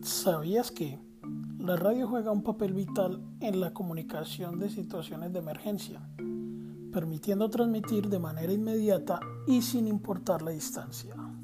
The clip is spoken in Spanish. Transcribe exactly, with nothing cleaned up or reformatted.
¿Sabías que la radio juega un papel vital en la comunicación de situaciones de emergencia, permitiendo transmitir de manera inmediata y sin importar la distancia?